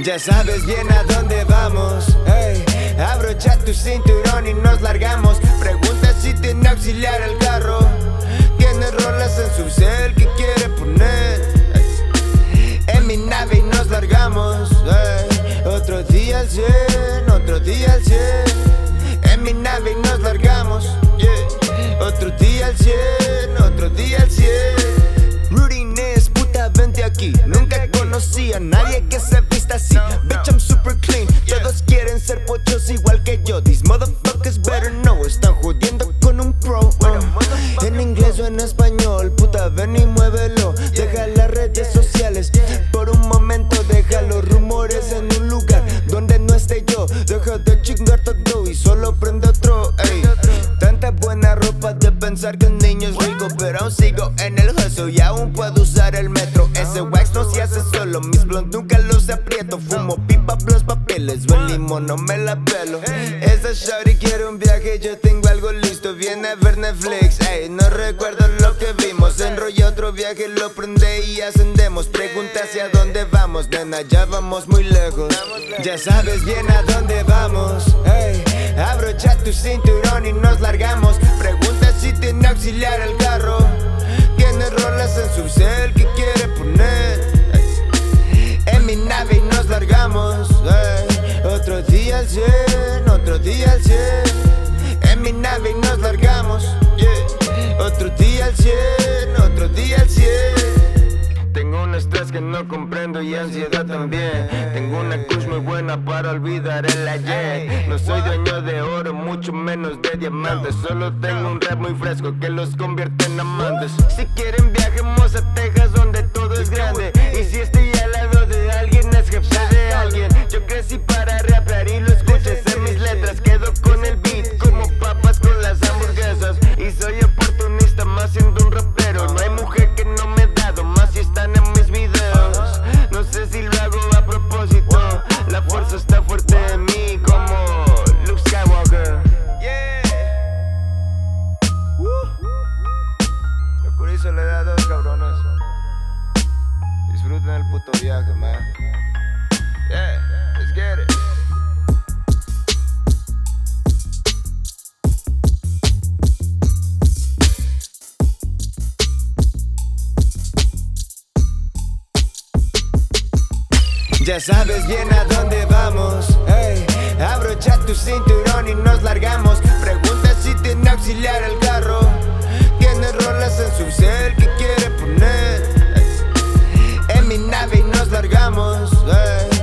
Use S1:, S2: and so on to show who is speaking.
S1: Ya sabes bien a dónde vamos, hey. Abrocha tu cinturón y nos largamos. Pregunta si tiene auxiliar el carro. Tiene rolas en su cel que quiere poner, hey. En mi nave y nos largamos, hey. Otro día al 100, otro día al 100. En mi nave y nos largamos, yeah. Otro día al 100, otro día al 100. Rutiness, puta, vente aquí. Nunca conocí a nadie que se vista así. Bitch, I'm super clean. Todos quieren ser pochos igual que yo. These motherfuckers better know. Están jodiendo con un pro, en inglés o en español. Puta, ven y muévelo. Deja las redes sociales por un momento. Deja los rumores en un lugar donde no esté yo. Deja de chingar todo y solo prende otro, ey. Tanta buena ropa de pensar que el niño es rico, pero aún sigo en el hustle y aún puedo usar el metro. Ese wax no se hace solo, mis blondes nunca los aprieto. Fumo pipa plus papeles, buen limón no me la pelo. Esa shawty quiere un viaje, yo tengo algo listo. Viene a ver Netflix, ey, no recuerdo lo que vimos. Enrolla otro viaje, lo prende y ascendemos. Pregunta hacia dónde vamos, nena, ya vamos muy lejos. Ya sabes bien a dónde vamos, hey. Abrocha tu cinturón y nos largamos. Pregunta si tiene auxiliar el carro. Tiene rolas en su cel que quiere poner, hey. En mi nave y nos largamos, hey. Otro día al 100, otro día al 100. En mi nave y nos largamos, yeah. Otro día al 100, otro día al 100. Tengo un estrés que no comprendo y ansiedad también. Tengo una kush muy buena para olvidar el ayer. No soy dueño de oro, mucho menos de diamantes. Solo tengo un rap muy fresco que los convierte en amantes. Si quieren viajemos a Texas donde todo es grande. Y si estoy al lado de alguien es jefe de alguien. Yo crecí para rapear y lo escuches en mis letras. Quedo con el beat como papas con las hamburguesas. Y soy oportunista más siendo un rapero. No hay mujer que no me he dado, más si están en mis videos. No sé si lo hago a propósito. La fuerza está fuerte en mí como Luke Skywalker. Yeah. Locura y soledad, dos cabrones. Disfruten el puto viaje, man. Yeah, let's get it. Ya sabes bien a dónde vamos, hey. Abrocha tu cinturón y nos largamos. Pregunta si tiene auxiliar el carro. Tiene rolas en su cel que quiere poner, hey. En mi nave y nos largamos, hey.